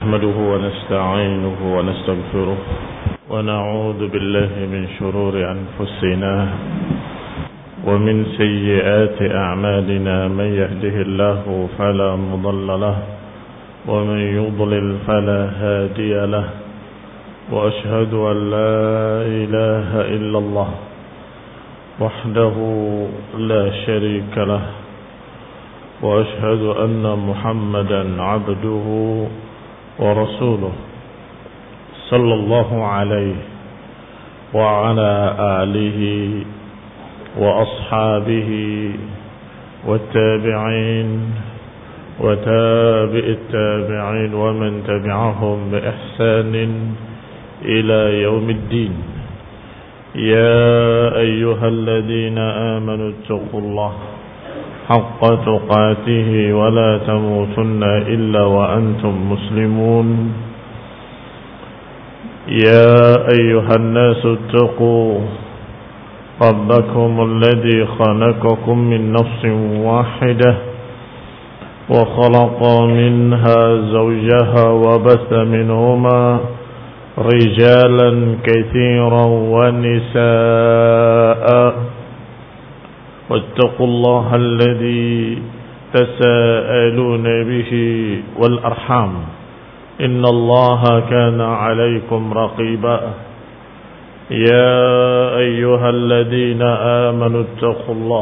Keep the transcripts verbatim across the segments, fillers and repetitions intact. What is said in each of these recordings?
نحمده ونستعينه ونستغفره ونعوذ بالله من شرور أنفسنا ومن سيئات أعمالنا من يهده الله فلا مضل له ومن يضلل فلا هادي له وأشهد أن لا إله إلا الله وحده لا شريك له وأشهد أن محمدا عبده ورسوله صلى الله عليه وعلى آله وأصحابه والتابعين وتابع التابعين ومن تبعهم بإحسان إلى يوم الدين. يا أيها الذين آمنوا اتقوا الله حق تقاته ولا تموتن إلا وأنتم مسلمون. يا أيها الناس اتقوا ربكم الذي خلقكم من نفس واحدة وخلق منها زوجها وبث منهما رجالا كثيرا ونساء واتقوا الله الذي تساءلون به والأرحام إن الله كان عليكم رقيبا. يا أيها الذين آمنوا اتقوا الله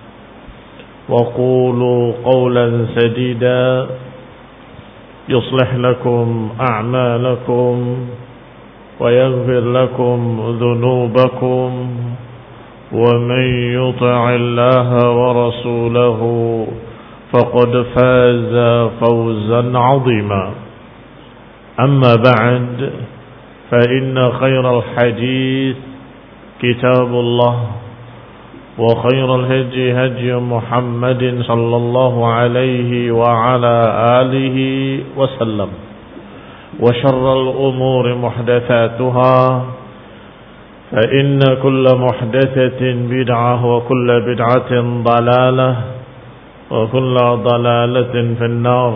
وقولوا قولا سديدا يصلح لكم أعمالكم ويغفر لكم ذنوبكم ومن يطع الله ورسوله فقد فاز فوزا عظيما. أما بعد فإن خير الحديث كتاب الله وخير الهدي هدي محمد صلى الله عليه وعلى آله وسلم وشر الأمور محدثاتها فإن كل محدثة بدعة وكل بدعة ضلالة وكل ضلالة في النار.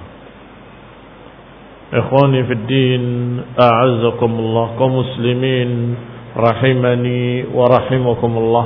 إخواني في الدين أعزكم الله كمسلمين rahimani wa rahimakumullah.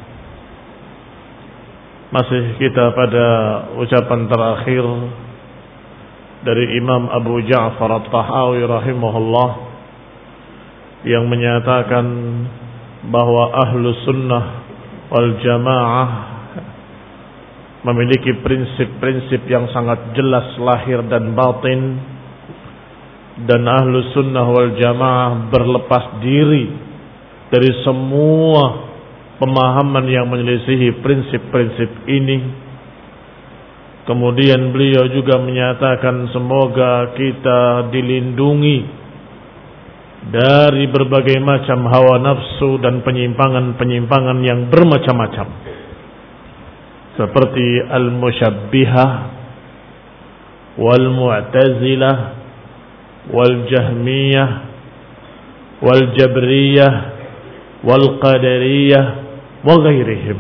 Masih kita pada ucapan terakhir dari Imam Abu Ja'far At-Tahawi rahimahullah yang menyatakan bahwa ahlu sunnah wal jamaah memiliki prinsip-prinsip yang sangat jelas lahir dan batin, dan ahlu sunnah wal jamaah berlepas diri dari semua pemahaman yang menyelisihi prinsip-prinsip ini. Kemudian beliau juga menyatakan semoga kita dilindungi dari berbagai macam hawa nafsu dan penyimpangan-penyimpangan yang bermacam-macam, seperti al-musyabbihah wal-mu'tazilah wal-jahmiyah wal-jabriyah wal-qadariyah wa ghairihim.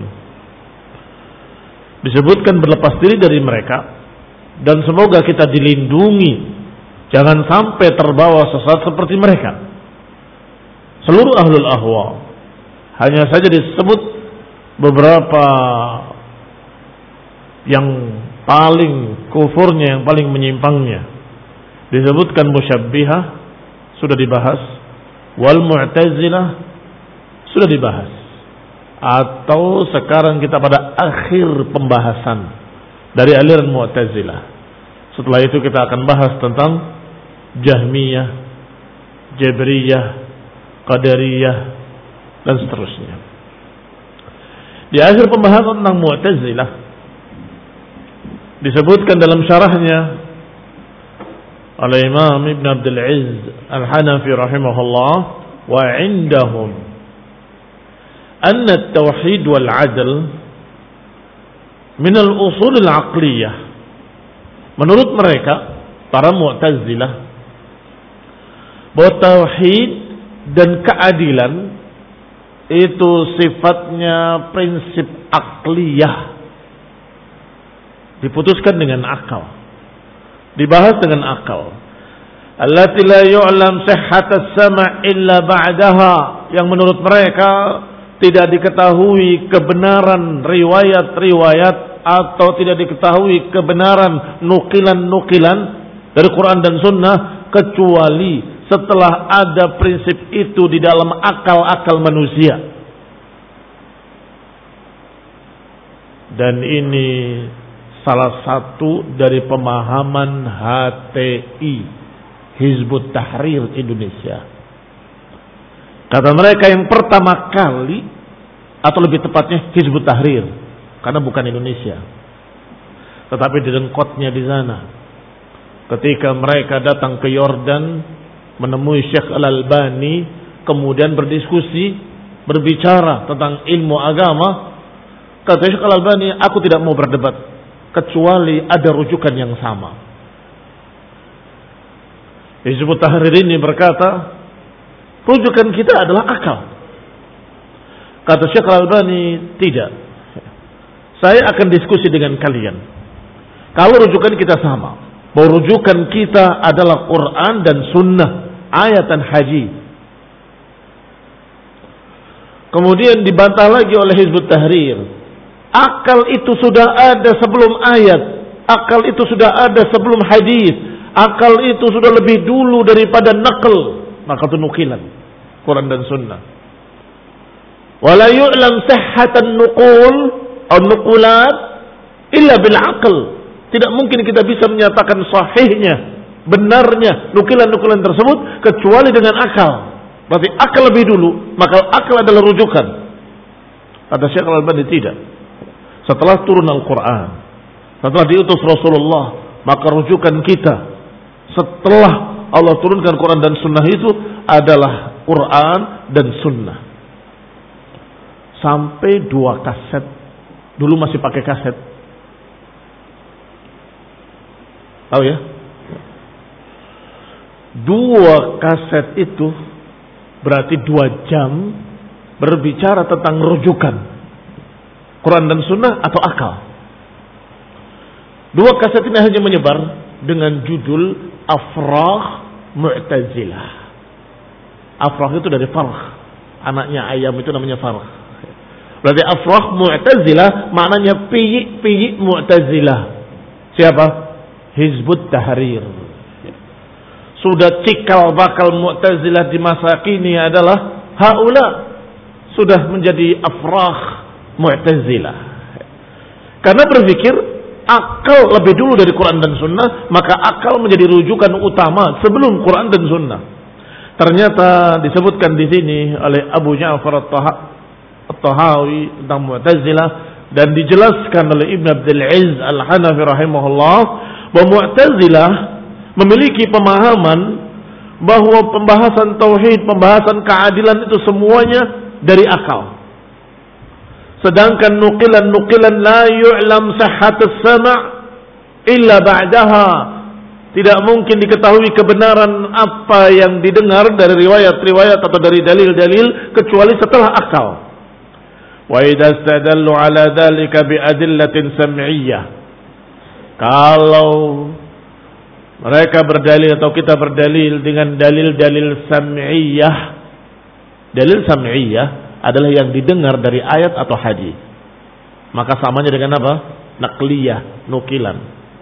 Disebutkan berlepas diri dari mereka, dan semoga kita dilindungi jangan sampai terbawa sesat seperti mereka. Seluruh ahlul ahwa, hanya saja disebut beberapa yang paling kufurnya, yang paling menyimpangnya. Disebutkan musyabbihah, sudah dibahas. Wal mu'tazilah, sudah dibahas. Atau sekarang kita pada akhir pembahasan dari aliran mu'tazilah. Setelah itu kita akan bahas tentang jahmiyah, jabriyah, qadariyah, dan seterusnya. Di akhir pembahasan tentang mu'tazilah disebutkan dalam syarahnya oleh Imam Ibn Abdul Aziz Al-Hanafi rahimahullah, wa indahum anna at-tauhid wal 'adl min al-usul al-'aqliyah. Menurut mereka para mu'tazilah, bahwa tauhid dan keadilan itu sifatnya prinsip akliyah, diputuskan dengan akal, dibahas dengan akal. allati la yu'lam sihhat as-sam' illa ba'daha, yang menurut mereka tidak diketahui kebenaran riwayat-riwayat atau tidak diketahui kebenaran nukilan-nukilan dari Quran dan Sunnah kecuali setelah ada prinsip itu di dalam akal-akal manusia. Dan ini salah satu dari pemahaman H T I, Hizbut Tahrir Indonesia. Kata mereka yang pertama kali, atau lebih tepatnya Hizbut Tahrir, karena bukan Indonesia, tetapi direngkotnya di sana. Ketika mereka datang ke Yordan menemui Syekh Al-Albani, kemudian berdiskusi, berbicara tentang ilmu agama, kata Syekh Al-Albani, aku tidak mau berdebat kecuali ada rujukan yang sama. Hizbut Tahrir ini berkata, rujukan kita adalah akal. Kata Syekh Al-Albani, tidak. Saya akan diskusi dengan kalian. Kalau rujukan kita sama, bahwa rujukan kita adalah Quran dan Sunnah, ayat dan hadis. Kemudian dibantah lagi oleh Hizbut Tahrir. Akal itu sudah ada sebelum ayat. Akal itu sudah ada sebelum hadis. Akal itu sudah lebih dulu daripada naql. Maka itu nukilan Quran dan Sunnah. Wala yu'lam sihhatan nuqul atau nuqulat illa bil aql. Tidak mungkin kita bisa menyatakan sahihnya, benarnya nukilan-nukilan tersebut kecuali dengan akal. Berarti akal lebih dulu, maka akal adalah rujukan. Kata Syekh Al-Albani, tidak. Setelah turun Al-Quran, setelah diutus Rasulullah, maka rujukan kita setelah Allah turunkan Quran dan Sunnah itu adalah Quran dan Sunnah. Sampai dua kaset, dulu masih pakai kaset. Tahu ya? Dua kaset itu berarti dua jam berbicara tentang rujukan Quran dan Sunnah atau akal. Dua kaset ini hanya menyebar dengan judul Afrah Mu'tazilah. Afrah itu dari farh, anaknya ayam itu namanya farh. Berarti Afrah Mu'tazilah maknanya piyik-piyik Mu'tazilah. Siapa? Hizbut Tahrir. Sudah cikal bakal Mu'tazilah di masa kini adalah haula, sudah menjadi afrah Mu'tazilah. Karena berpikir akal lebih dulu dari Quran dan Sunnah, maka akal menjadi rujukan utama sebelum Quran dan Sunnah. Ternyata disebutkan di sini oleh Abu Ja'far At-Tahawi tentang Mu'tazilah, dan dijelaskan oleh Ibn Abdul Aziz Al-Hanafi rahimahullah, bahwa Mu'tazilah memiliki pemahaman bahwa pembahasan tauhid, pembahasan keadilan itu semuanya dari akal. Sedangkan nukilan-nukilan la yu'lam sihhatus sama' illa ba'daha, tidak mungkin diketahui kebenaran apa yang didengar dari riwayat-riwayat atau dari dalil-dalil kecuali setelah akal. Wa idza istadallu ala dzalika bi adillatin sam'iyyah, kalau mereka berdalil atau kita berdalil dengan dalil-dalil sam'iyah, dalil sam'iyah adalah yang didengar dari ayat atau hadis, maka samanya dengan apa? Naqliyah, nukilan.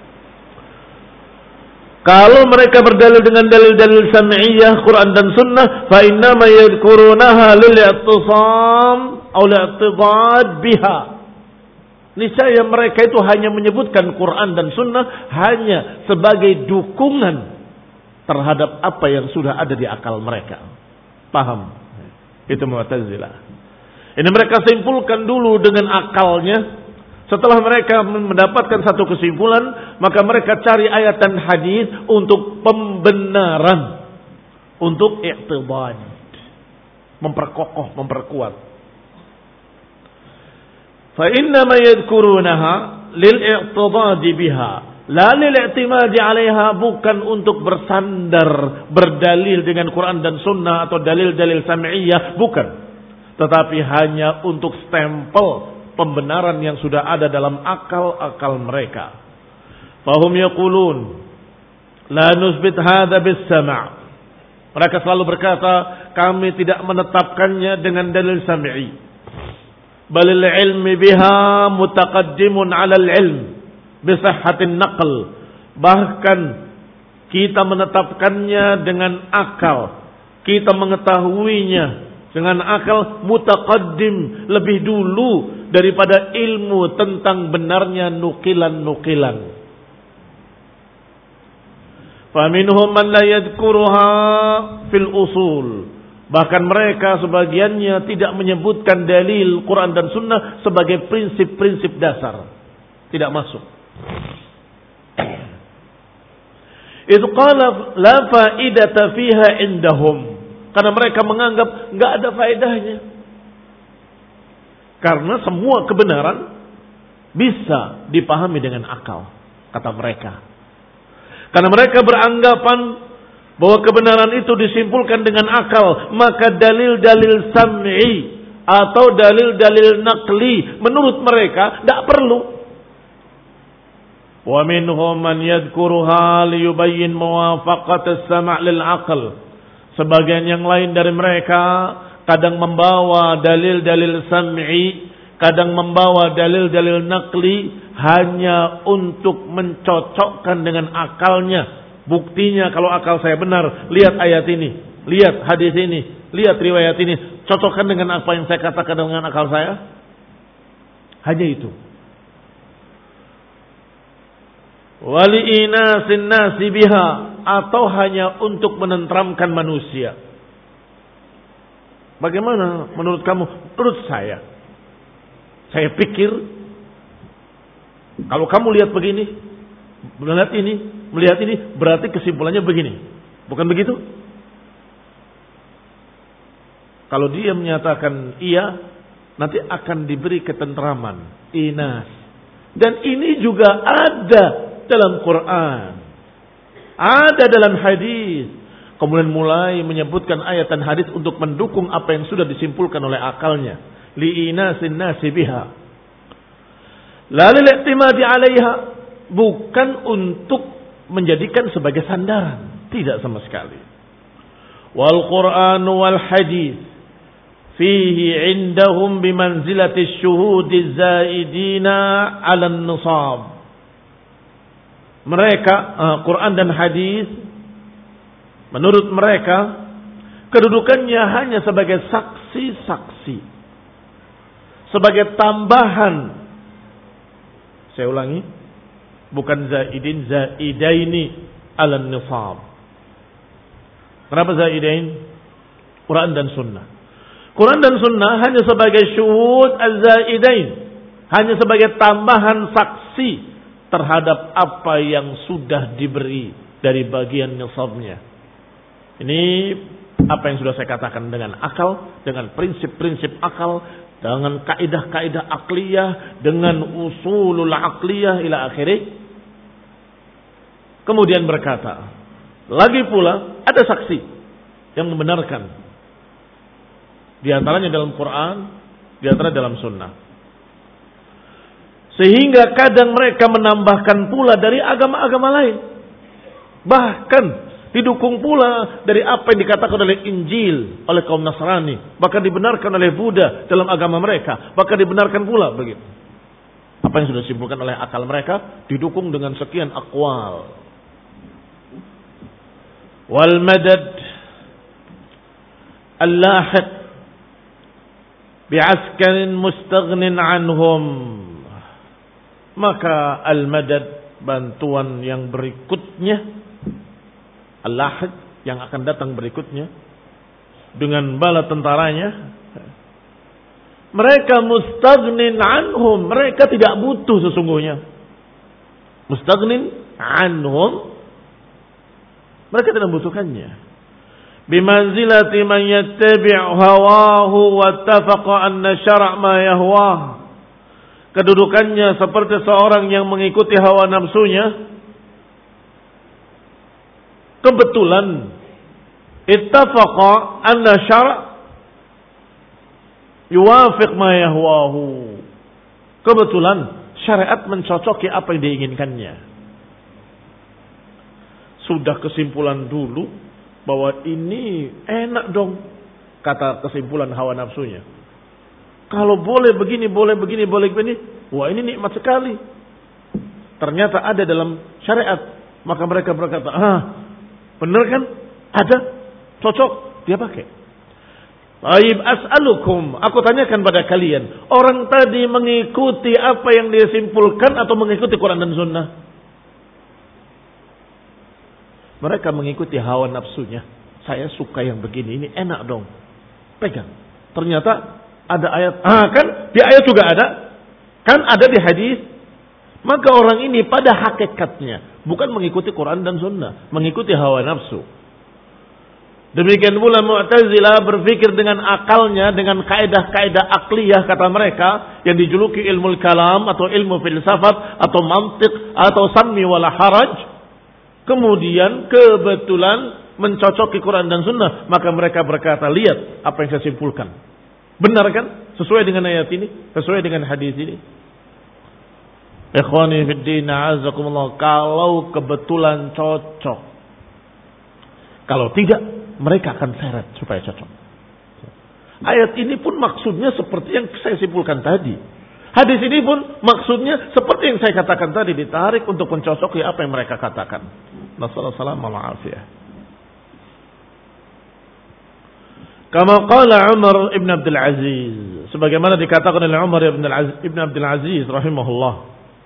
Kalau mereka berdalil dengan dalil-dalil sam'iyah, Quran dan Sunnah, fa innama yadhkurunaha lil-i'tisam aw li'tidad biha. Niscaya mereka itu hanya menyebutkan Quran dan Sunnah hanya sebagai dukungan terhadap apa yang sudah ada di akal mereka. Paham? Itu Mu'tazilah. Ini mereka simpulkan dulu dengan akalnya. Setelah mereka mendapatkan satu kesimpulan, maka mereka cari ayat dan hadis untuk pembenaran, untuk i'tibad, memperkokoh, memperkuat. Fa innama yadhkurunaha lil-i'tidad biha la lil-i'timad 'alaiha, bukan untuk bersandar berdalil dengan Quran dan Sunnah atau dalil-dalil sam'iyah, bukan, tetapi hanya untuk stempel pembenaran yang sudah ada dalam akal-akal mereka. Fahum yaqulun, La nusbit hadza bis-sam'. Mereka selalu berkata, kami tidak menetapkannya dengan dalil sam'i. Balil ilmi biha mutaqaddimun 'ala al-'ilm bi sihhatin naql. Bahkan kita menetapkannya dengan akal. Kita mengetahuinya dengan akal mutaqaddim, lebih dulu daripada ilmu tentang benarnya nukilan-nukilan. Faminhum man la yadhkuruha fil usul. Bahkan mereka sebagiannya tidak menyebutkan dalil Quran dan Sunnah sebagai prinsip-prinsip dasar. Tidak masuk. Itu qala la faidata fiha indahum. Karena mereka menganggap enggak ada faedahnya. Karena semua kebenaran bisa dipahami dengan akal, kata mereka. Karena mereka beranggapan bahwa kebenaran itu disimpulkan dengan akal, maka dalil-dalil sam'i atau dalil-dalil naqli menurut mereka tidak perlu. Wa minhum man yadhkuruha liyubayyin muwafaqat as-sam' lil aql. Sebagian yang lain dari mereka kadang membawa dalil-dalil sam'i, kadang membawa dalil-dalil naqli hanya untuk mencocokkan dengan akalnya. Buktinya kalau akal saya benar, lihat ayat ini, lihat hadis ini, lihat riwayat ini, cocokkan dengan apa yang saya katakan dengan akal saya. Hanya itu. Wali inasin nasi biha, atau hanya untuk menenteramkan manusia. Bagaimana menurut kamu? Menurut saya, saya pikir kalau kamu lihat begini, melihat ini, melihat ini, berarti kesimpulannya begini. Bukan begitu? Kalau dia menyatakan iya, nanti akan diberi ketenteraman, inas. Dan ini juga ada dalam Quran, ada dalam hadis. Kemudian mulai menyebutkan ayat dan hadis untuk mendukung apa yang sudah disimpulkan oleh akalnya. Li'inasin nasi biha. La lil-i'timadi 'alaiha, bukan untuk menjadikan sebagai sandaran, tidak sama sekali. Wal Qur'an wal hadis fihi 'indahum bimanzilati syuhudi zaidina 'ala an-nisab. Mereka uh, Quran dan hadis menurut mereka kedudukannya hanya sebagai saksi-saksi, sebagai tambahan. Saya ulangi, bukan zaidin, zaidaini ala nisab. Kenapa zaidain? Quran dan Sunnah. Quran dan Sunnah hanya sebagai syuhud az-zaidain, hanya sebagai tambahan saksi terhadap apa yang sudah diberi dari bagian nisabnya. Ini apa yang sudah saya katakan dengan akal, dengan prinsip-prinsip akal, dengan kaidah-kaidah akliyah, dengan usulul akliyah ila akhirih. Kemudian berkata, lagi pula ada saksi yang membenarkan. Di antaranya dalam Quran, di antara dalam Sunnah. Sehingga kadang mereka menambahkan pula dari agama-agama lain. Bahkan didukung pula dari apa yang dikatakan oleh Injil, oleh kaum Nasrani. Bahkan dibenarkan oleh Buddha dalam agama mereka. Bahkan dibenarkan pula begitu. Apa yang sudah disimpulkan oleh akal mereka didukung dengan sekian aqwal. Wal madad al-lahiq bi'askarin mustaghnin anhum. Maka al-madad, bantuan yang berikutnya, al-lahiq yang akan datang berikutnya dengan bala tentaranya, mereka mustaghnin anhum, mereka tidak butuh sesungguhnya. Mustaghnin anhum, mereka tidak membutuhkannya. Bimanzilati man yattabi' hawahu wattafaqa anna syara' ma yahwah. Kedudukannya seperti seorang yang mengikuti hawa nafsunya. Kebetulan ittafaqa anna syara' yuwafiq ma yahwahu. Kebetulan syariat mencocoki apa yang diinginkannya. sudah kesimpulan dulu bahwa ini enak dong, kata kesimpulan hawa nafsunya. Kalau boleh begini, boleh begini, boleh begini, wah ini nikmat sekali. Ternyata ada dalam syariat, maka mereka berkata, ah benar kan, ada, cocok, dia pakai. Baik, as'alukum, aku tanyakan pada kalian, orang tadi mengikuti apa yang dia simpulkan atau mengikuti Quran dan Sunnah? Mereka mengikuti hawa nafsunya. Saya suka yang begini, ini enak dong. Pegang. Ternyata ada ayat. Ah kan, di ayat juga ada. Kan ada di hadis. Maka orang ini pada hakikatnya bukan mengikuti Quran dan Sunnah, mengikuti hawa nafsu. Demikian pula Mu'tazilah berpikir dengan akalnya, dengan kaidah-kaidah akliyah kata mereka yang dijuluki ilmu kalam atau ilmu filsafat atau mantiq atau sammi wala haraj. Kemudian kebetulan mencocoki Quran dan Sunnah, maka mereka berkata, lihat apa yang saya simpulkan. Benar kan? Sesuai dengan ayat ini, sesuai dengan hadis ini. Ikhwani fid din, a'azzakumullah, kalau kebetulan cocok. Kalau tidak, mereka akan seret supaya cocok. Ayat ini pun maksudnya seperti yang saya simpulkan tadi. Hadis ini pun maksudnya seperti yang saya katakan tadi, ditarik untuk mencocoki apa yang mereka katakan. Nasallallahu alaihi wasallam. Kama qala Umar ibn Abdul Aziz, sebagaimana dikatakan oleh Umar ibn Aziz, ibn Abdul Aziz rahimahullah,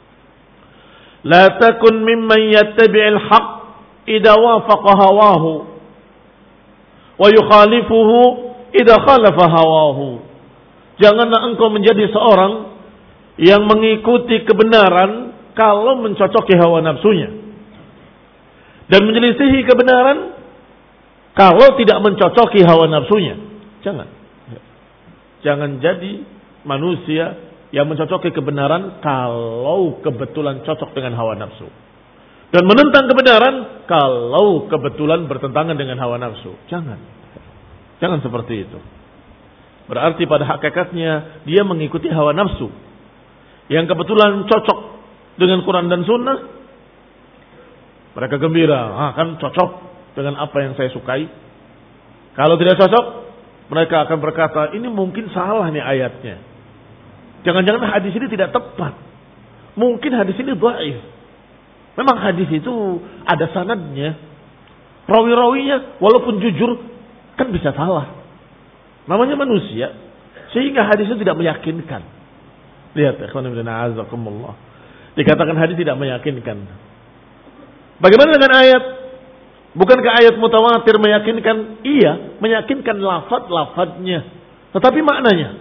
la takun mimman yattabi'il haqq idza wafaqa hawahu wa yukhalifuhu idza khalafa hawahu. Janganlah engkau menjadi seorang yang mengikuti kebenaran kalau mencocoki hawa nafsunya, dan menyelisihi kebenaran kalau tidak mencocoki hawa nafsunya. Jangan. Jangan jadi manusia yang mencocoki kebenaran kalau kebetulan cocok dengan hawa nafsu, dan menentang kebenaran kalau kebetulan bertentangan dengan hawa nafsu. Jangan. Jangan seperti itu. Berarti pada hakikatnya dia mengikuti hawa nafsu yang kebetulan cocok dengan Quran dan Sunnah. Mereka gembira, ah kan cocok dengan apa yang saya sukai. Kalau tidak cocok, mereka akan berkata, ini mungkin salah nih ayatnya. Jangan-jangan hadis ini tidak tepat. Mungkin hadis ini dhaif. Memang hadis itu ada sanadnya. Rawi-rawinya walaupun jujur kan bisa salah. Namanya manusia. Sehingga hadis itu tidak meyakinkan. Lihat, ikhwan fillah, a'azakumullah. Dikatakan hadis tidak meyakinkan. Bagaimana dengan ayat? Bukankah ayat mutawatir meyakinkan? Iya, meyakinkan lafaz-lafaznya. Tetapi maknanya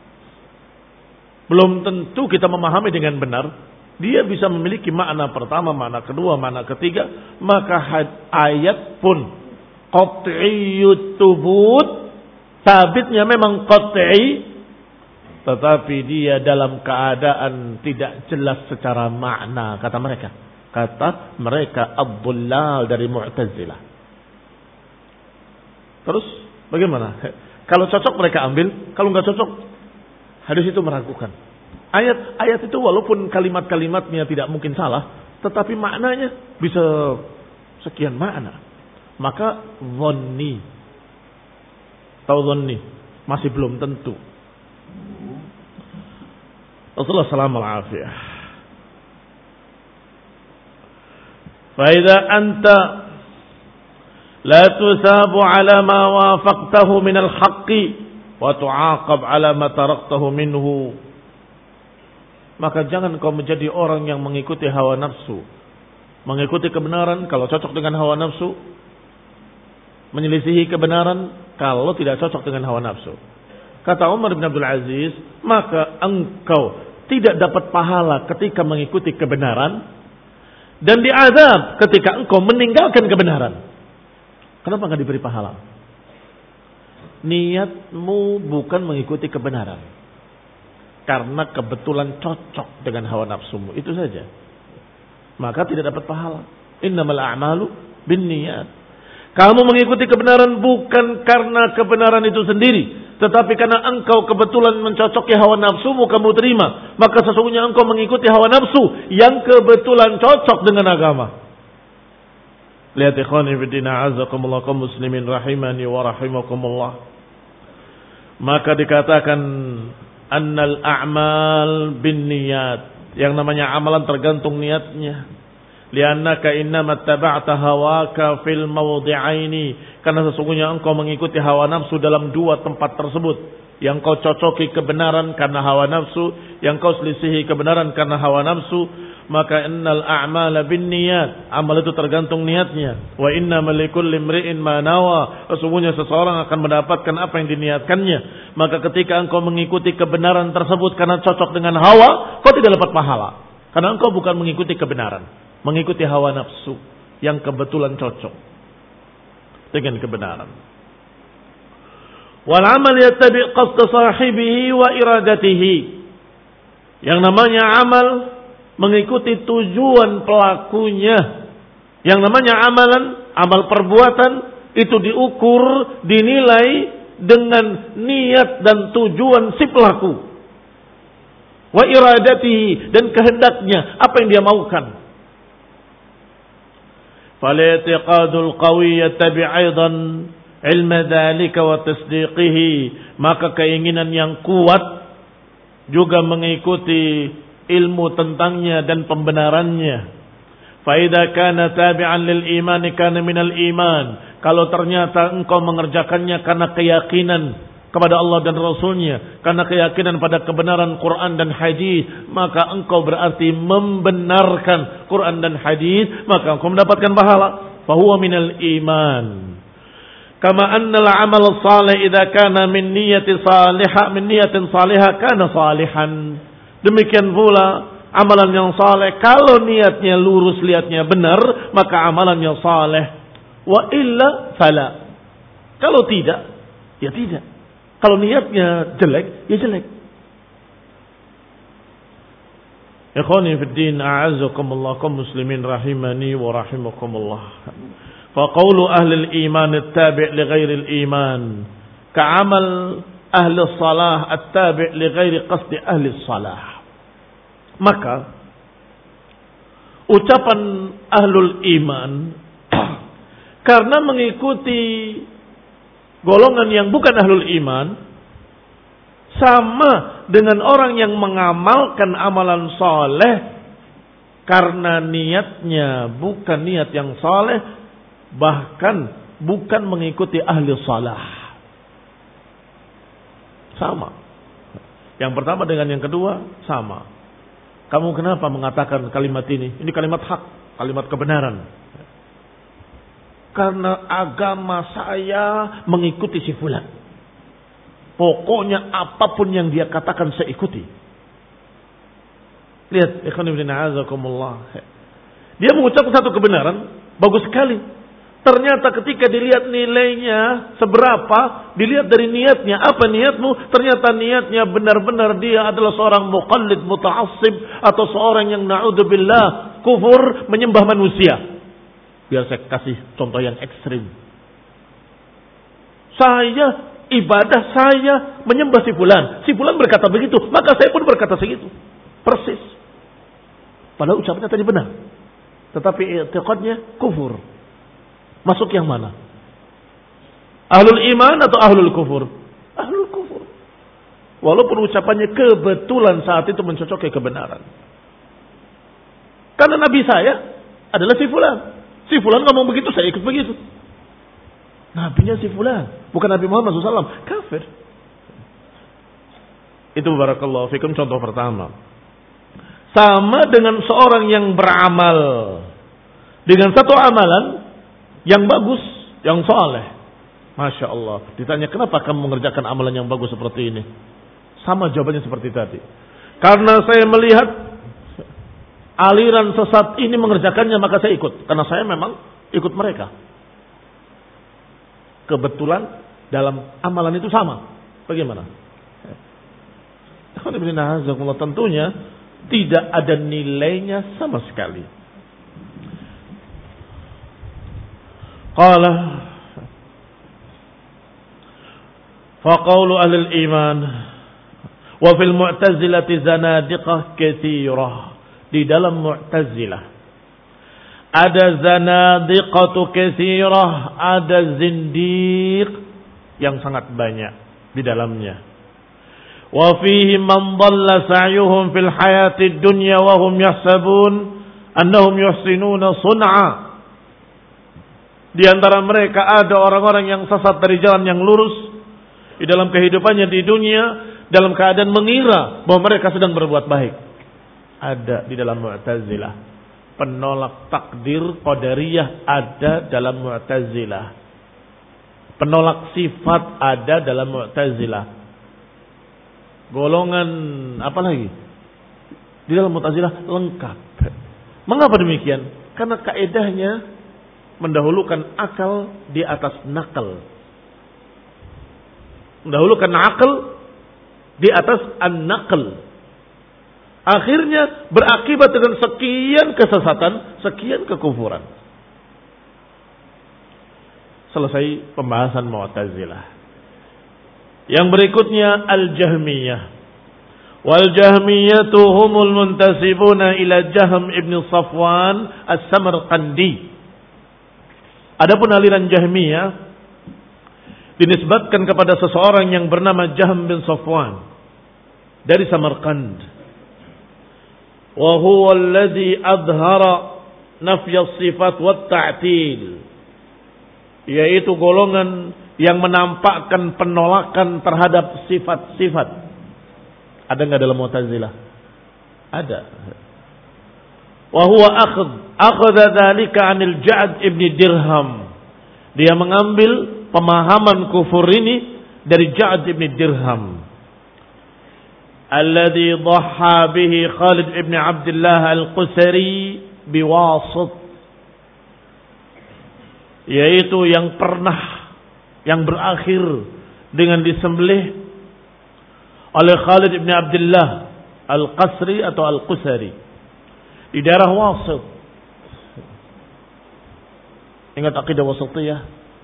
belum tentu kita memahami dengan benar. Dia bisa memiliki makna pertama, makna kedua, makna ketiga. Maka ayat pun qat'iyyut thubut, sabitnya memang qat'i, tetapi dia dalam keadaan tidak jelas secara makna, kata mereka. Kata mereka ad-dhullal dari Mu'tazilah. Terus bagaimana? Kalau cocok mereka ambil, kalau nggak cocok, hadis itu meragukan. Ayat-ayat itu walaupun kalimat-kalimatnya tidak mungkin salah, tetapi maknanya bisa sekian makna. Maka dhanni, tahu dhanni, masih belum tentu. Rasulullah sallallahu alaihi wasallam, fa idza anta la tusabu ala ma wafaqtahu min al-haqqi wa tu'aqab ala ma taraktahu minhu, maka jangan kau menjadi orang yang mengikuti hawa nafsu, mengikuti kebenaran kalau cocok dengan hawa nafsu, menyelisihi kebenaran kalau tidak cocok dengan hawa nafsu. Kata Umar bin Abdul Aziz, maka engkau tidak dapat pahala ketika mengikuti kebenaran dan diazab ketika engkau meninggalkan kebenaran. Kenapa enggak diberi pahala? Niatmu bukan mengikuti kebenaran karena kebetulan cocok dengan hawa nafsumu, itu saja. Maka tidak dapat pahala. Innamal a'malu binniyat. Kamu mengikuti kebenaran bukan karena kebenaran itu sendiri, tetapi karena engkau kebetulan mencocoki hawa nafsumu, kamu terima. Maka sesungguhnya engkau mengikuti hawa nafsu yang kebetulan cocok dengan agama. Lihat ikhwani fillah azakumullah kaum muslimin rahimani wa rahimakumullah. Maka dikatakan annal a'mal binniyat. Yang namanya amalan tergantung niatnya. Liannaka innama taba'ta hawaka fil mawdi'aini. Karena sesungguhnya engkau mengikuti hawa nafsu dalam dua tempat tersebut. Yang kau cocoki kebenaran karena hawa nafsu, yang kau selisihi kebenaran karena hawa nafsu. Maka innal a'mala binniyat. Amal itu tergantung niatnya. Wa innamal likulli imri'in ma nawa. Sesungguhnya seseorang akan mendapatkan apa yang diniatkannya. Maka ketika engkau mengikuti kebenaran tersebut karena cocok dengan hawa, kau tidak dapat pahala. Karena engkau bukan mengikuti kebenaran, mengikuti hawa nafsu yang kebetulan cocok dengan kebenaran. Wal amal yattabi' qasd sahibihi wa iradatihi. Yang namanya amal mengikuti tujuan pelakunya. Yang namanya amalan, amal perbuatan itu diukur, dinilai dengan niat dan tujuan si pelaku. Wa iradatihi, dan kehendaknya, apa yang dia maukan. Fal-i'tiqadul qawi yattabi' aidan ilma dzalika wa tasdiqihi. Maka keinginan yang kuat juga mengikuti ilmu tentangnya dan pembenarannya. Fa idza kana tabi'an lil iman kana minal iman. Kalau ternyata engkau mengerjakannya karena keyakinan kepada Allah dan Rasulnya, karena keyakinan pada kebenaran Quran dan hadis, maka engkau berarti membenarkan Quran dan hadis, maka engkau mendapatkan pahala. Fa huwa minal iman. Kama annal amal salih idza kana min niyyati salihah min niyatin salihah kana salihan. Demikian pula amalan yang saleh kalau niatnya lurus, niatnya benar, maka amalannya saleh. Wa illa fala. Kalau tidak, ya tidak. Kalau niatnya jelek, ya jelek. Ikhwani fid din, a'azzakumullah kaum muslimin rahimani wa rahimakumullah. Fa qawlu ahli al-iman at-tabi' li ghairi al-iman ka'amal ahli as-salah at-tabi' li ghairi qasdi ahli as-salah. Maka ucapan ahlul iman karena mengikuti golongan yang bukan ahlul iman sama dengan orang yang mengamalkan amalan soleh karena niatnya bukan niat yang soleh, bahkan bukan mengikuti ahli salah. Sama. Yang pertama dengan yang kedua sama. Kamu kenapa mengatakan kalimat ini? Ini kalimat hak, kalimat kebenaran. Karena agama saya mengikuti si fulan. Pokoknya apapun yang dia katakan saya ikuti. Lihat, ikhwan fillah a'azakumullah. Dia mengucapkan satu kebenaran, bagus sekali. Ternyata ketika dilihat nilainya seberapa, dilihat dari niatnya, apa niatmu? Ternyata niatnya benar-benar dia adalah seorang muqallid muta'assib atau seorang yang na'udzubillah kufur menyembah manusia. Biar saya kasih contoh yang ekstrim. Saya ibadah saya menyembah si fulan. Si fulan berkata begitu, maka saya pun berkata segitu. Persis. Padahal ucapannya tadi benar. Tetapi i'tiqadnya kufur. Masuk yang mana? Ahlul iman atau ahlul kufur? Ahlul kufur. Walaupun ucapannya kebetulan saat itu mencocoki kebenaran. Karena Nabi saya adalah si fulan. Si fulan ngomong begitu, saya ikut begitu. Nabinya si fulan, bukan Nabi Muhammad shallallahu alaihi wasallam. Kafir. Itu barakallahu fikum contoh pertama. Sama dengan seorang yang beramal dengan satu amalan yang bagus, yang saleh. Masya Allah. Ditanya, kenapa kamu mengerjakan amalan yang bagus seperti ini? Sama jawabannya seperti tadi. Karena saya melihat aliran sesat ini mengerjakannya, maka saya ikut. Karena saya memang ikut mereka. Kebetulan dalam amalan itu sama. Bagaimana? Tentunya tidak ada nilainya sama sekali. Qala faqaulu ahli al-iman wa fil mu'tazilati zanadiqah katsirah. Di dalam Mu'tazilah ada zanadiqatu katsirah, ada zindiq yang sangat banyak di dalamnya. Wa fihi man dhalla sa'yuhum fil hayatid dunya wa hum yahsabun annahum yuhsinuna sun'a. Di antara mereka ada orang-orang yang sesat dari jalan yang lurus di dalam kehidupannya di dunia dalam keadaan mengira bahwa mereka sedang berbuat baik. Ada di dalam Mu'tazilah. Penolak takdir qadariyah ada dalam Mu'tazilah. Penolak sifat ada dalam Mu'tazilah. Golongan apa lagi? Di dalam Mu'tazilah lengkap. Mengapa demikian? Karena kaedahnya mendahulukan akal di atas nakal. Mendahulukan akal di atas an-naql. Akhirnya berakibat dengan sekian kesesatan, sekian kekufuran. Selesai pembahasan Mu'tazilah. Yang berikutnya Al-Jahmiyah. Wal Jahmiyatu humul muntasibuna ila Jahm ibn Safwan As-Samarqandi. Adapun aliran Jahmiyah dinisbatkan kepada seseorang yang bernama Jahm bin Safwan dari Samarkand. Wa huwa alladhi adhara nafy as-sifat wat ta'til. Yaitu golongan yang menampakkan penolakan terhadap sifat-sifat. Ada enggak dalam Mu'tazilah? Ada. Wa huwa akhadh akhadha dzalika 'anil Ja'd ibn Dirham. Dia mengambil pemahaman kufur ini dari Ja'd ibn Dirham. Alladhi dhaha bihi Khalid ibn Abdullah al-Qusari biwasit. Yaitu yang pernah, yang berakhir dengan disembelih oleh Khalid ibn Abdullah al-Qasri atau al-Qusari di daerah Wasit. Ingat akidah wasitiyah?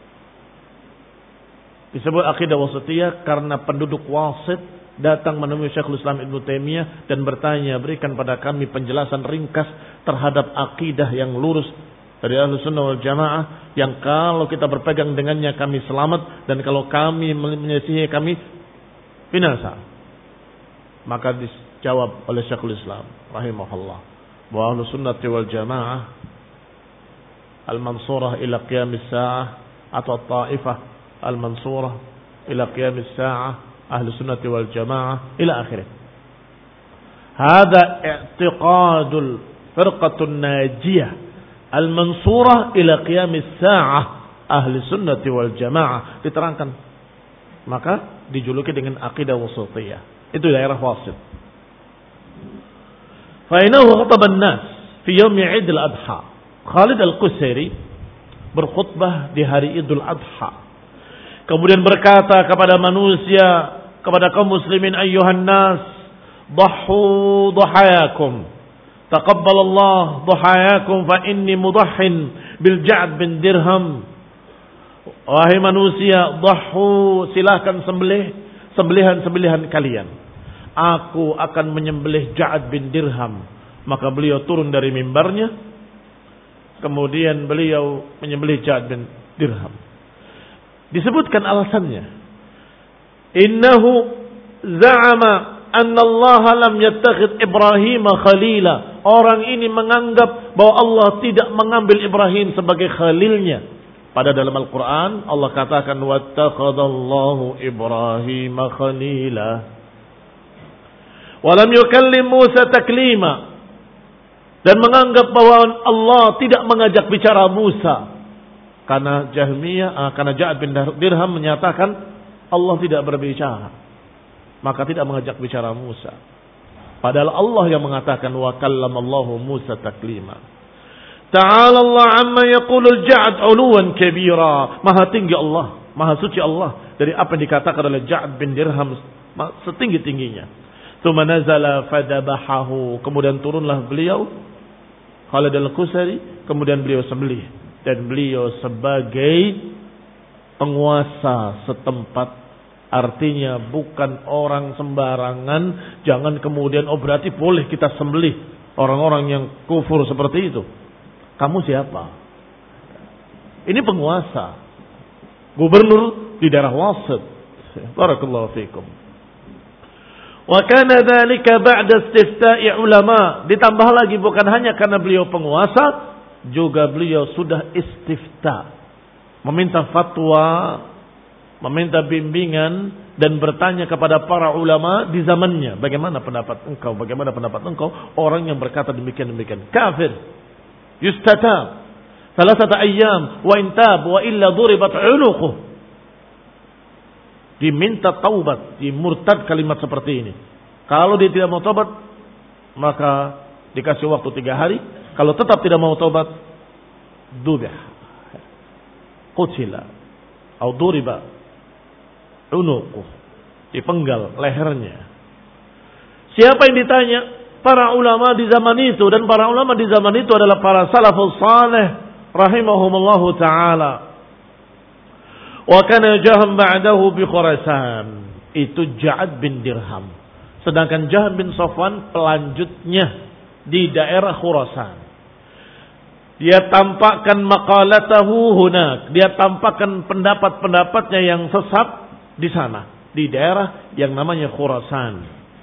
Disebut akidah wasitiyah karena penduduk Wasit datang menemui Syekhul Islam Ibnu Taimiyah dan bertanya, berikan pada kami penjelasan ringkas terhadap akidah yang lurus dari Ahlus Sunnah wal Jamaah yang kalau kita berpegang dengannya kami selamat dan kalau kami menyelisihi kami binasa. Maka dijawab oleh Syekhul Islam rahimahullah bahwa Ahlus Sunnah wal Jamaah al-mansurah ila qiyamis sa'ah atau taifah al-mansurah ila qiyamis sa'ah Ahlus Sunnah wal Jamaah ila akhirih. Hada i'tiqadul firqatun najiyah al-mansurah ila qiyamis sa'ah Ahlus Sunnah wal Jamaah, diterangkan. Maka dijuluki dengan akidah wasitiyah. Itu daerah Wasit. Fa inahu khataba an-nas fi yaum Eid al-Adha. Khalid al-Qusari berkhutbah di hari Idul Adha. Kemudian berkata kepada manusia, kepada kaum muslimin, ayyuhan nas, dhahu dhahayakum. Taqabbalallah dhahayakum fa inni mudahhin bil Ja'd bin Dirham. Wahai manusia, dhahu, silahkan sembelih sembelihan-sembelihan kalian. Aku akan menyembelih Ja'd bin Dirham. Maka beliau turun dari mimbarnya. Kemudian beliau menyembelih Ja'd bin Dirham. Disebutkan alasannya. Innahu za'ama anna Allah lam yattakhid Ibrahim khalila. Orang ini menganggap bahwa Allah tidak mengambil Ibrahim sebagai khalilnya. Pada dalam Al-Quran Allah katakan wattakhadallahu Ibrahim khalila. Wa lam yukallim Musa taklima. Dan menganggap bahwa Allah tidak mengajak bicara Musa. Karena Jahmiyah, karena Ja'd bin Dirham menyatakan Allah tidak berbicara, maka tidak mengajak bicara Musa. Padahal Allah yang mengatakan wa kallamallahu Musa taklima. Ta'ala Allah amma yaqulul Ja'd 'uluwan kabira. Maha tinggi Allah, maha suci Allah dari apa yang dikatakan oleh Ja'd bin Dirham setinggi-tingginya. Tsumma nazala fadabahahu. Kemudian turunlah beliau Khalid al-Qusari, kemudian beliau sembelih. Dan beliau sebagai penguasa setempat, artinya bukan orang sembarangan. Jangan kemudian oh berarti boleh kita sembelih orang-orang yang kufur seperti itu. Kamu siapa? Ini penguasa. Gubernur di daerah Wasit. Barakallahu fikum. Wa kana dzalika ba'da istifta'i ulama. Ditambah lagi bukan hanya karena beliau penguasa, juga beliau sudah istifta. Meminta fatwa, meminta bimbingan dan bertanya kepada para ulama di zamannya, bagaimana pendapat engkau, bagaimana pendapat engkau orang yang berkata demikian-demikian. Kafir. Yustatab. Salasata ayyam wa intab wa illa duribat 'unuquh. Diminta taubat, dimurtad kalimat seperti ini. Kalau dia tidak mau taubat, maka dikasih waktu tiga hari. Kalau tetap tidak mau taubat, dubih, qutila, atau duriba, unuquh, dipenggal lehernya. Siapa yang ditanya? Para ulama di zaman itu, dan para ulama di zaman itu adalah para salafus saleh rahimahumullahu ta'ala. Wa kana Jahm ba'dahu bi Khurasan. Itu Ja'ad bin Dirham. Sedangkan Jahm bin Safwan pelanjutnya di daerah Khurasan. Dia tampakkan maqalatahu hunak. Dia tampakkan pendapat-pendapatnya yang sesat di sana, di daerah yang namanya Khurasan.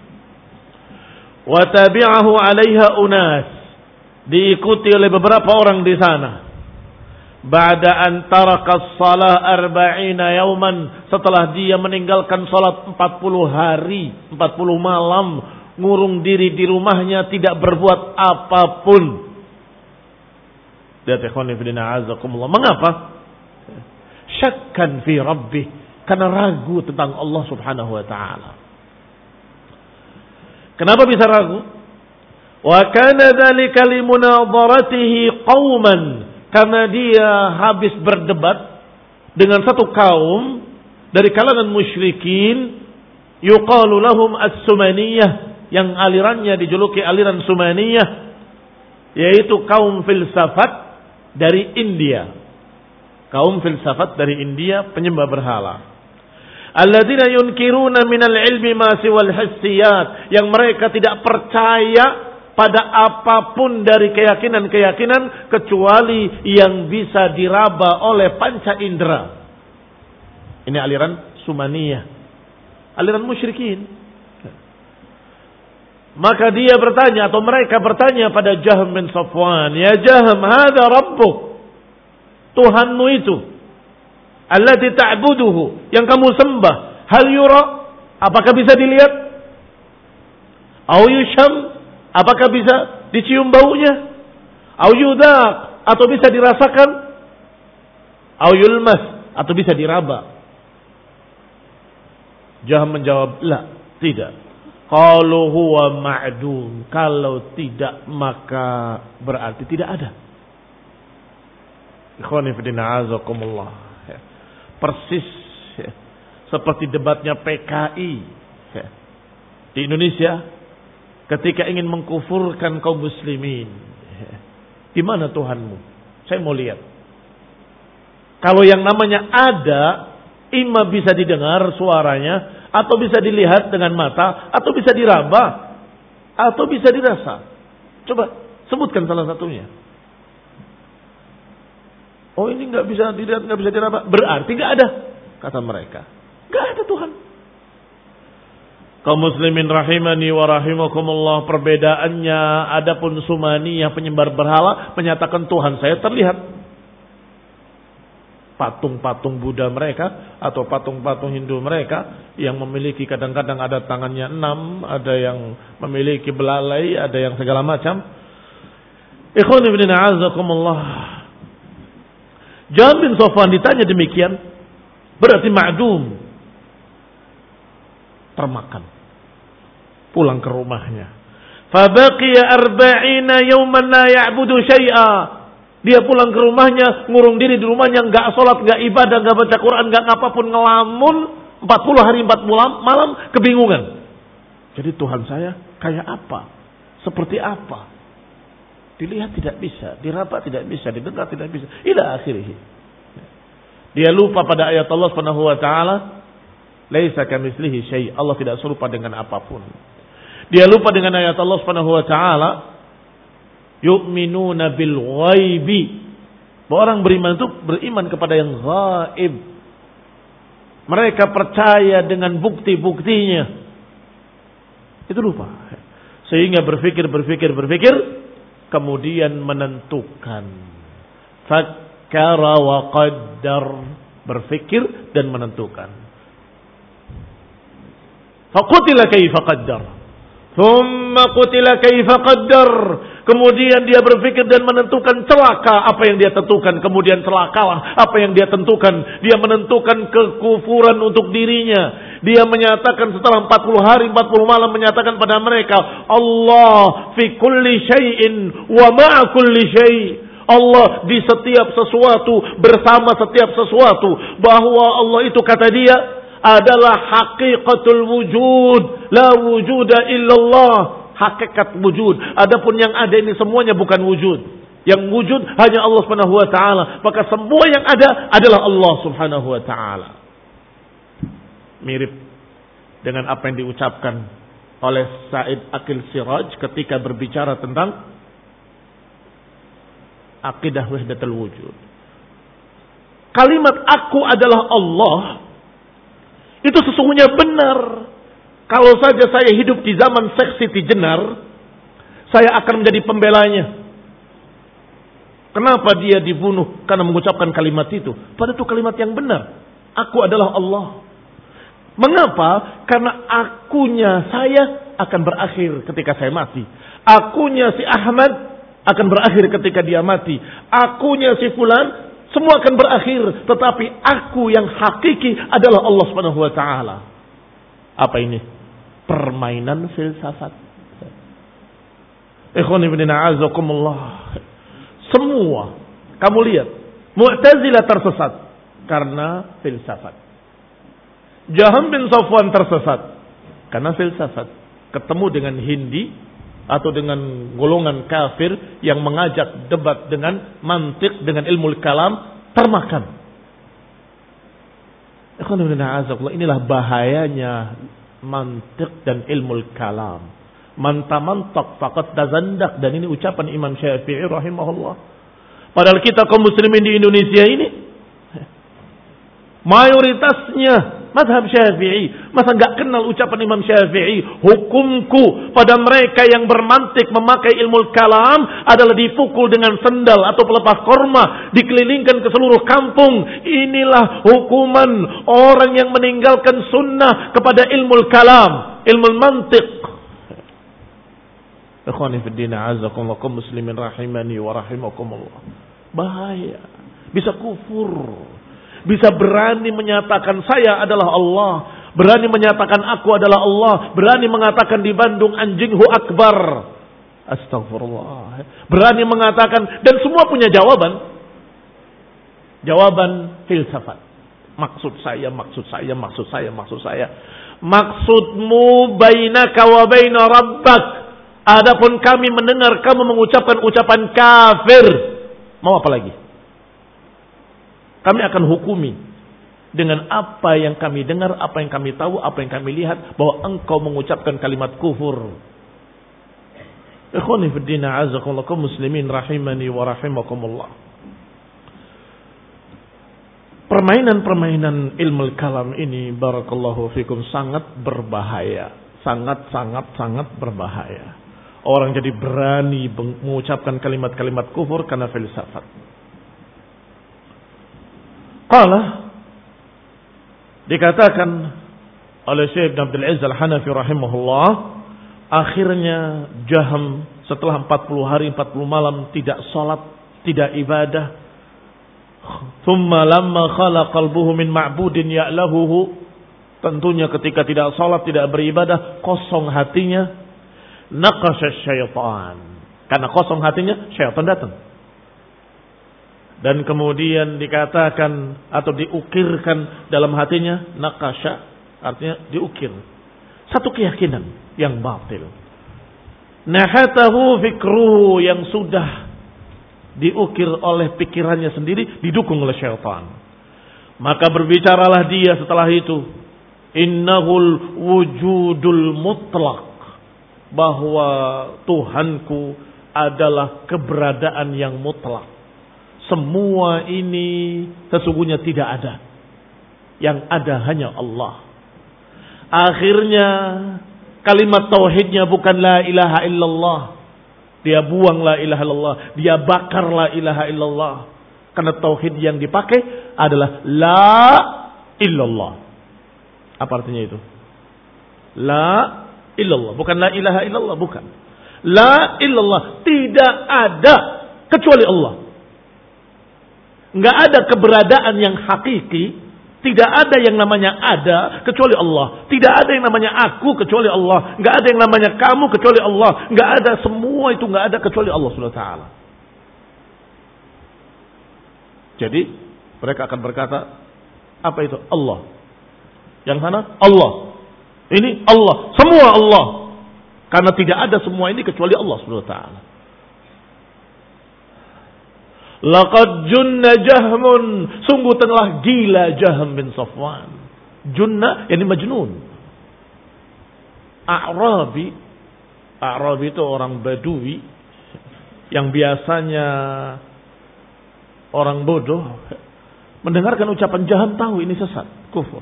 Wa tabi'ahu 'alaiha unas. Diikuti oleh beberapa orang di sana. Ba'da an taraka as-salah arba'ina yawman, setelah dia meninggalkan salat empat puluh hari, empat puluh malam, ngurung diri di rumahnya, tidak berbuat apapun. Lihat ikhwan fillah azakumullah. Mengapa? Syakkan fi rabbih, karena ragu tentang Allah Subhanahu wa taala. Kenapa bisa ragu? Wa kana dzalika limunadharatihi qauman, karena dia habis berdebat dengan satu kaum dari kalangan musyrikin, yuqalu lahum as-Sumaniyah, yang alirannya dijuluki aliran Sumaniyah, yaitu kaum filsafat dari India. Kaum filsafat dari India, penyembah berhala. Alladzina yunkiruna minal ilmi ma siwal hissiyat, yang mereka tidak percaya pada apapun dari keyakinan-keyakinan kecuali yang bisa diraba oleh panca indera. Ini aliran Sumaniyah, aliran musyrikin. Maka dia bertanya, atau mereka bertanya pada Jahm bin Safwan, ya Jahm, hadza rabbuk, Tuhanmu itu, allati ta'buduhu, yang kamu sembah, hal yura, apakah bisa dilihat? Au yusham, apakah bisa dicium baunya? Au yudaq, atau bisa dirasakan? Au yulmas, atau bisa diraba? Jahm menjawab, la, tidak. Qalu huwa ma'dum, kalau tidak maka berarti tidak ada. Ikhwani fi din a'azakumullah. Persis ya, seperti debatnya P K I ya, di Indonesia ketika ingin mengkufurkan kaum muslimin. Ya, di mana Tuhanmu? Saya mau lihat. Kalau yang namanya ada, imma bisa didengar suaranya, atau bisa dilihat dengan mata, atau bisa diraba, atau bisa dirasa. Coba sebutkan salah satunya. Oh, ini nggak bisa dilihat, nggak bisa diraba, berarti nggak ada, kata mereka. Nggak ada Tuhan. Kaum muslimin rahimani wa rahimakumullah, perbedaannya, adapun Sumaniyah penyembah berhala menyatakan Tuhan saya terlihat. Patung-patung Buddha mereka atau patung-patung Hindu mereka yang memiliki kadang-kadang ada tangannya enam, ada yang memiliki belalai, ada yang segala macam. Ikhwan ibn a'azakumullah. Jahm bin Safwan ditanya demikian, berarti ma'dum, termakan. Pulang ke rumahnya. Fabaqiya arba'ina yawman la ya'budu syai'a. Dia pulang ke rumahnya, ngurung diri di rumahnya, enggak sholat, enggak ibadah, enggak baca Quran, enggak apapun, ngelamun empat puluh hari empat malam, malam kebingungan. Jadi Tuhan saya kayak apa? Seperti apa? Dilihat tidak bisa, diraba tidak bisa, didengar tidak bisa. Ila akhirih. Dia lupa pada ayat Allah Subhanahu wa taala, laisa kamitslihi syai'. Allah tidak serupa dengan apapun. Dia lupa dengan ayat Allah Subhanahu wa taala, yu'minuna bil ghaibi. Orang beriman itu beriman kepada yang gaib. Mereka percaya dengan bukti-buktinya. Itu lupa. Sehingga berpikir, berpikir, berpikir. Kemudian menentukan. Fakkara wa qaddar. Berpikir dan menentukan. Faqutila kaifa qaddar. Thumma qutila kaifa qaddar. Kemudian dia berpikir dan menentukan celaka apa yang dia tentukan. Kemudian celakalah apa yang dia tentukan. Dia menentukan kekufuran untuk dirinya. Dia menyatakan setelah empat puluh hari, empat puluh malam menyatakan pada mereka, Allah fi kulli syai'in wa ma'a kulli syai'. Allah di setiap sesuatu, bersama setiap sesuatu. Bahwa Allah itu kata dia adalah haqiqatul wujud. La wujuda illallah. Hakikat wujud. Adapun yang ada ini semuanya bukan wujud. Yang wujud hanya Allah Subhanahu wa taala. Maka semua yang ada adalah Allah Subhanahu wa taala. Mirip dengan apa yang diucapkan oleh Said Aqil Siraj ketika berbicara tentang akidah wahdatul wujud. Kalimat aku adalah Allah itu sesungguhnya benar. Kalau saja saya hidup di zaman Syekh Siti Jenar, saya akan menjadi pembelanya. Kenapa dia dibunuh? Karena mengucapkan kalimat itu. Padahal itu kalimat yang benar. Aku adalah Allah. Mengapa? Karena akunya saya akan berakhir ketika saya mati. Akunya si Ahmad akan berakhir ketika dia mati. Akunya si Fulan semua akan berakhir. Tetapi aku yang hakiki adalah Allah Subhanahu wa taala. Apa ini? Permainan filsafat. Ikhwan ibn a'azakumullah. Semua kamu lihat Mu'tazilah tersesat karena filsafat. Jaham bin Safwan tersesat karena filsafat. Ketemu dengan Hindi atau dengan golongan kafir yang mengajak debat dengan mantik, dengan ilmu kalam, termakan. Ikhwan ibn a'azakumullah, inilah bahayanya mantik dan ilmu kalam. Mantamantak faqad tazandak. Dan ini ucapan Imam Syafi'i rahimahullah. Padahal kita kaum muslimin di Indonesia ini mayoritasnya mazhab Syafi'i. Masa enggak kenal ucapan Imam Syafi'i? Hukumku pada mereka yang bermantik memakai ilmu kalam adalah dipukul dengan sendal atau pelepas korma, dikelilingkan ke seluruh kampung. Inilah hukuman orang yang meninggalkan sunnah kepada ilmu kalam, ilmu mantik. Ikhwani fi din, a'azakumullah, kaum muslimin rahimani wa rahimakumullah. Bahaya. Bisa kufur. Bisa berani menyatakan saya adalah Allah. Berani menyatakan aku adalah Allah. Berani mengatakan di Bandung anjinghu akbar. Astagfirullah. Berani mengatakan, dan semua punya jawaban. Jawaban filsafat. Maksud saya, maksud saya, maksud saya, maksud saya. Maksudmu bainaka wa baina rabbak. Adapun kami mendengar kamu mengucapkan ucapan kafir. Mau apa lagi? Kami akan hukumi dengan apa yang kami dengar, apa yang kami tahu, apa yang kami lihat, bahwa engkau mengucapkan kalimat kufur. Ikhwani fi din, a'azakumullah, kaum muslimin rahimani wa rahimakumullah. Permainan-permainan ilmu kalam ini, barakallahu fikum, sangat berbahaya. Sangat, sangat, sangat berbahaya. Orang jadi berani mengucapkan kalimat-kalimat kufur karena filsafat. Qala, dikatakan oleh Syekh Abdul Aziz Al-Hanafi rahimahullah, akhirnya Jaham setelah empat puluh hari empat puluh malam tidak salat, tidak ibadah. Thumma lamma khala qalbuhu min ma'budin ya'lahuhu, tentunya ketika tidak salat, tidak beribadah, kosong hatinya. Naqasha syaitan, karena kosong hatinya, syaitan datang. Dan kemudian dikatakan atau diukirkan dalam hatinya, naqasha artinya diukir, satu keyakinan yang batil. Nahatahu fikruhu, yang sudah diukir oleh pikirannya sendiri, didukung oleh syaitan. Maka berbicaralah dia setelah itu, innahul wujudul mutlaq, bahwa Tuhanku adalah keberadaan yang mutlak. Semua ini sesungguhnya tidak ada. Yang ada hanya Allah. Akhirnya kalimat tauhidnya bukan la ilaha illallah. Dia buang la ilaha illallah. Dia bakar la ilaha illallah. Karena tauhid yang dipakai adalah la illallah. Apa artinya itu? La illallah. Bukan la ilaha illallah. Bukan. La illallah. Tidak ada kecuali Allah. Nggak ada keberadaan yang hakiki. Tidak ada yang namanya ada kecuali Allah. Tidak ada yang namanya aku kecuali Allah. Nggak ada yang namanya kamu kecuali Allah. Nggak ada, semua itu nggak ada kecuali Allah subhanahu wa taala. Jadi mereka akan berkata, apa itu? Allah. Yang sana Allah. Ini Allah. Semua Allah. Karena tidak ada semua ini kecuali Allah subhanahu wa taala. Laqad junna Jahmun, sungguh telah gila Jahm bin Safwan. Junna yani majnun. A'rabi, A'rabi itu orang Badui yang biasanya orang bodoh, mendengarkan ucapan Jahm tahu ini sesat, kufur.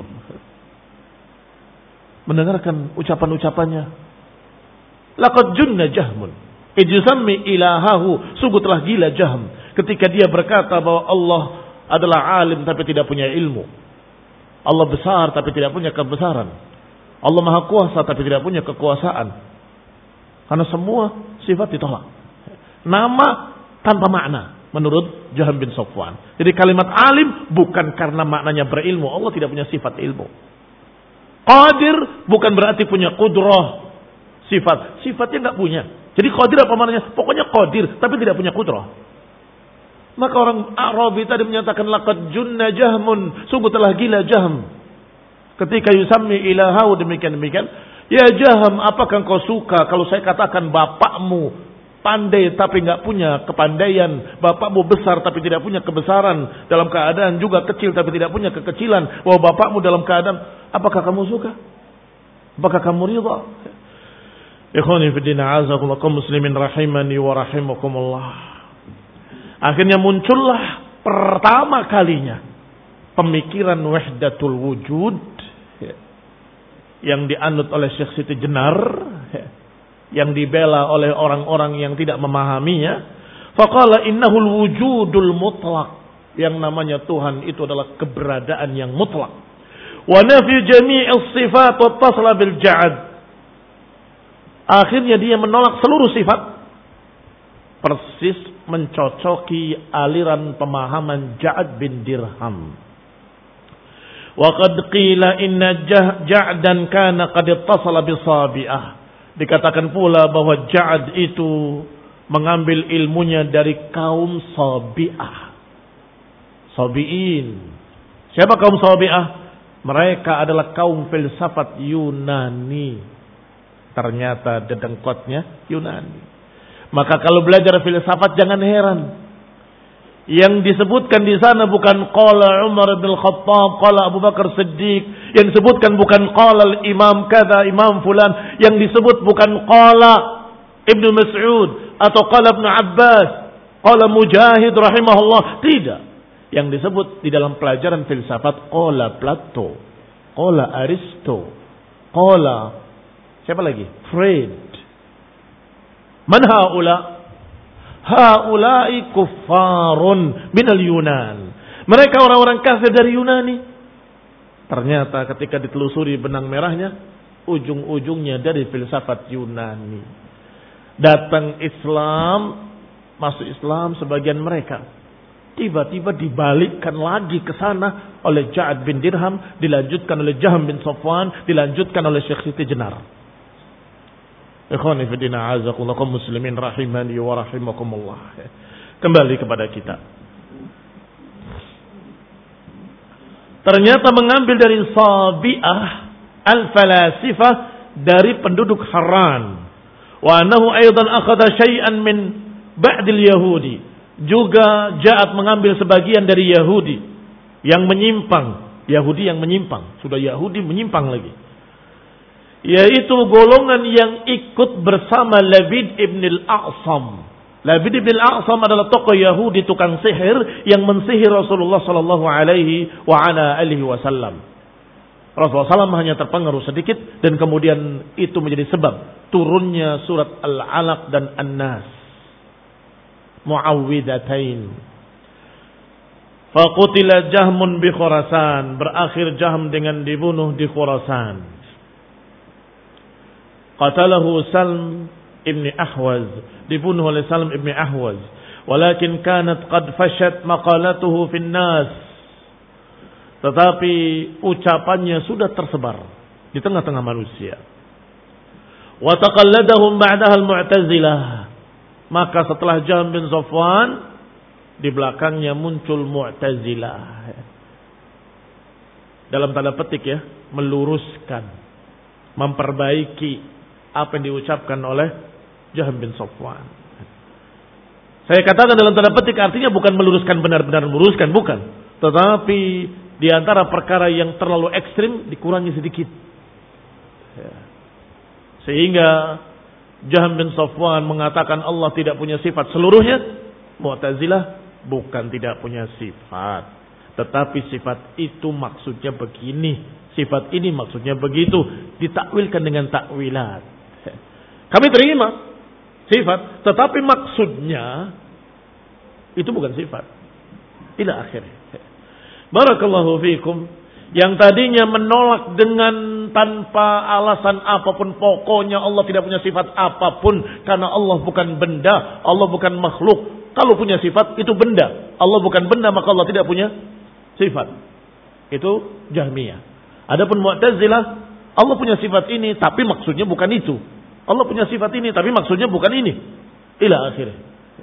Mendengarkan ucapan-ucapannya, laqad junna Jahmun, ijsammi ilahahu, sungguh telah gila Jahm ketika dia berkata bahwa Allah adalah alim tapi tidak punya ilmu. Allah besar tapi tidak punya kebesaran. Allah maha kuasa tapi tidak punya kekuasaan. Karena semua sifat ditolak. Nama tanpa makna menurut Jahm bin Safwan. Jadi kalimat alim bukan karena maknanya berilmu. Allah tidak punya sifat ilmu. Qadir bukan berarti punya kudrah. Sifat. Sifatnya nggak punya. Jadi qadir apa maknanya? Pokoknya qadir tapi tidak punya kudrah. Maka orang Arabi tadi menyatakan laqad junna Jahmun, sungguh telah gila Jahm. Ketika yusammi ilahahu demikian-demikian, ya Jahm, apakah engkau suka kalau saya katakan bapakmu pandai tapi enggak punya kepandaian, bapakmu besar tapi tidak punya kebesaran, dalam keadaan juga kecil tapi tidak punya kekecilan, bahwa bapakmu dalam keadaan, apakah kamu suka? Apakah kamu ridha? Ikhwani fi din, a'azakumullah kaum muslimin rahimani wa rahimakumullah. Akhirnya muncullah pertama kalinya pemikiran wahdatul wujud yang dianut oleh Syekh Siti Jenar, yang dibela oleh orang-orang yang tidak memahaminya. Faqala innahul wujudul mutlaq, yang namanya Tuhan itu adalah keberadaan yang mutlak. Wa nafi jami'is sifat wa tasla bil ja'ad. Akhirnya dia menolak seluruh sifat, persis mencocoki aliran pemahaman Ja'ad bin Dirham. Wa qad qila inna Ja'dan kana qad ittasala bi Sabi'ah. Dikatakan pula bahwa Ja'ad itu mengambil ilmunya dari kaum Sabi'ah. Sabi'in. Siapa kaum Sabi'ah? Mereka adalah kaum filsafat Yunani. Ternyata dedengkotnya Yunani. Maka kalau belajar filsafat jangan heran. Yang disebutkan di sana bukan qala Umar bin Khattab, qala Abu Bakar Siddiq. Yang disebutkan bukan qala Imam kada, Imam fulan. Yang disebut bukan qala Ibnu Mas'ud atau qala Ibnu Abbas, qala Mujahid rahimahullah. Tidak. Yang disebut di dalam pelajaran filsafat qala Plato, qala Aristo, qala siapa lagi? Freud. Man haula? Haulai kuffarun minal Yunan. Mereka orang-orang kafir dari Yunani. Ternyata ketika ditelusuri benang merahnya, ujung-ujungnya dari filsafat Yunani. Datang Islam, masuk Islam sebagian mereka. Tiba-tiba dibalikkan lagi ke sana oleh Ja'ad bin Dirham, dilanjutkan oleh Jahm bin Safwan, dilanjutkan oleh Syekh Siti Jenar. Ikhwani fi din, a'azakumullah kaum muslimin rahimani wa rahimakumullah. Kembali kepada kita. Ternyata mengambil dari Sabi'ah al-falasifah, dari penduduk Haran. Wa annahu aidan akhadha syai'an min ba'dil yahudi. Juga Ja'ad mengambil sebagian dari Yahudi yang menyimpang. Yahudi yang menyimpang. Sudah Yahudi menyimpang lagi. Yaitu golongan yang ikut bersama Labid ibn al-A'sam Labid bin al-A'sam adalah tokoh Yahudi tukang sihir yang mensihir Rasulullah sallallahu alaihi wa ala alihi wasallam. Rasulullah sallallahu alaihi wasallam hanya terpengaruh sedikit dan kemudian itu menjadi sebab turunnya surat Al-Alaq dan An-Nas. Muawwidatain. Faqutila Jahmun bi Khurasan, berakhir Jahm dengan dibunuh di Khurasan. Qatalahu Salm ibn Ahwaz, dibunuh oleh Salm ibn Ahwaz. Walakin kanat qad fashat maqalatuhu fin nas. Tetapi ucapannya sudah tersebar di tengah-tengah manusia. Wa taqalladahum ba'daha al-Mu'tazilah. Maka setelah Jahm bin Safwan, di belakangnya muncul Mu'tazilah. Dalam tanda petik ya, meluruskan, memperbaiki apa yang diucapkan oleh Jahm bin Safwan. Saya katakan dalam tanda petik artinya bukan meluruskan benar-benar meluruskan, bukan. Tetapi di antara perkara yang terlalu ekstrim dikurangi sedikit. Sehingga Jahm bin Safwan mengatakan Allah tidak punya sifat seluruhnya. Mu'tazilah bukan tidak punya sifat, tetapi sifat itu maksudnya begini, sifat ini maksudnya begitu, ditakwilkan dengan takwilat. Kami terima sifat, tetapi maksudnya itu bukan sifat. Ila akhirnya. Barakallahu fiikum. Yang tadinya menolak dengan tanpa alasan apapun, pokoknya Allah tidak punya sifat apapun karena Allah bukan benda, Allah bukan makhluk. Kalau punya sifat itu benda, Allah bukan benda maka Allah tidak punya sifat. Itu Jahmiyah. Adapun Mu'tazilah, Allah punya sifat ini tapi maksudnya bukan itu. Allah punya sifat ini tapi maksudnya bukan ini. Ila akhirnya.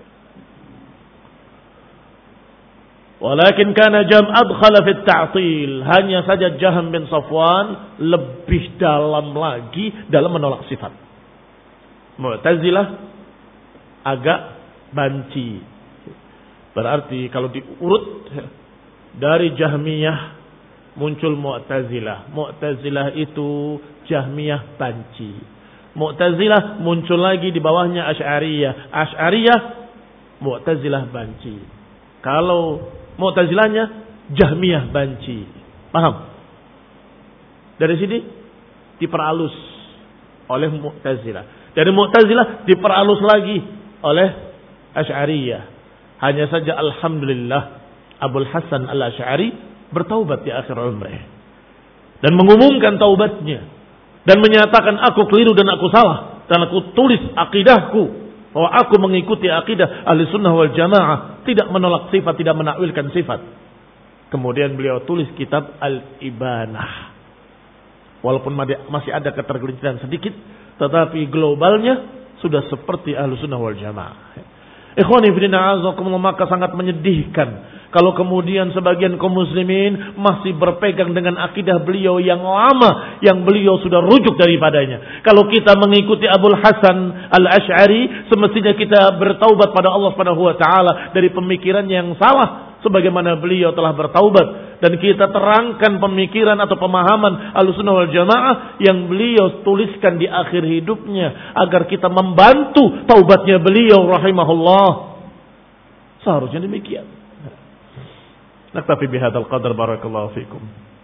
Walakin kana Jahm adkhala fit ta'til. Hanya saja Jahm bin Safwan lebih dalam lagi dalam menolak sifat. Mu'tazilah agak banci. Berarti kalau diurut dari Jahmiyah muncul Mu'tazilah. Mu'tazilah itu Jahmiyah banci. Mu'tazilah muncul lagi di bawahnya Asy'ariyah. Asy'ariyah Mu'tazilah banci. Kalau Mu'tazilahnya Jahmiyah banci. Paham? Dari sini diperhalus oleh Mu'tazilah. Dari Mu'tazilah diperhalus lagi oleh Asy'ariyah. Hanya saja alhamdulillah Abul Hasan Al-Asy'ari bertaubat di akhir umrih dan mengumumkan taubatnya dan menyatakan aku keliru dan aku salah dan aku tulis akidahku bahwa aku mengikuti akidah ahli sunnah wal jamaah, tidak menolak sifat, tidak menakwilkan sifat. Kemudian beliau tulis kitab Al-Ibanah. Walaupun masih ada ketergelinciran sedikit, tetapi globalnya sudah seperti ahli sunnah wal jamaah. Ikhwani fillah azakumullah, maka sangat menyedihkan kalau kemudian sebagian kaum muslimin masih berpegang dengan akidah beliau yang lama, yang beliau sudah rujuk daripadanya. Kalau kita mengikuti Abul Hasan Al-Asy'ari, semestinya kita bertaubat pada Allah Subhanahu wa taala dari pemikiran yang salah sebagaimana beliau telah bertaubat, dan kita terangkan pemikiran atau pemahaman Ahlussunnah wal Jamaah yang beliau tuliskan di akhir hidupnya agar kita membantu taubatnya beliau rahimahullah. Seharusnya demikian. Naktafi bihadzal qadar, barakallahu fikum.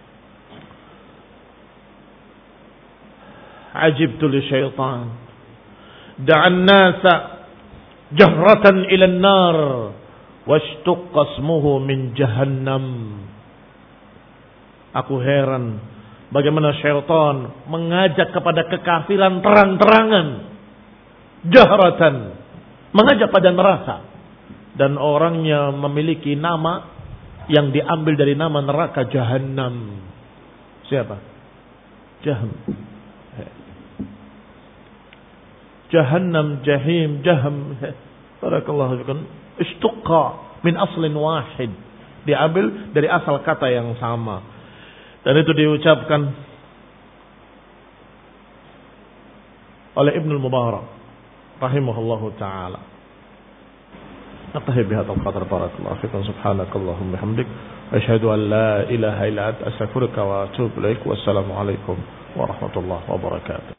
Ajibtu li syaitan da'an nasa jahratan ila an-nar washtuqqa ismuhu min jahannam. Aku heran bagaimana syaitan mengajak kepada kekafiran terang-terangan, jahratan, mengajak pada neraka, dan orangnya memiliki nama yang diambil dari nama neraka Jahannam. Siapa? Jahm. Jahannam, Jahim, Jahm. Barakallahu fikum. Istuqqa min aslin wahid. Diambil dari asal kata yang sama. Dan itu diucapkan oleh Ibnu Mubarak rahimahullahu taala. نقتهي بهذا القدر بارك الله فيكم سبحانك اللهم وبحمدك أشهد أن لا إله إلا أنت أستغفرك وأتوب إليك والسلام عليكم ورحمة الله وبركاته.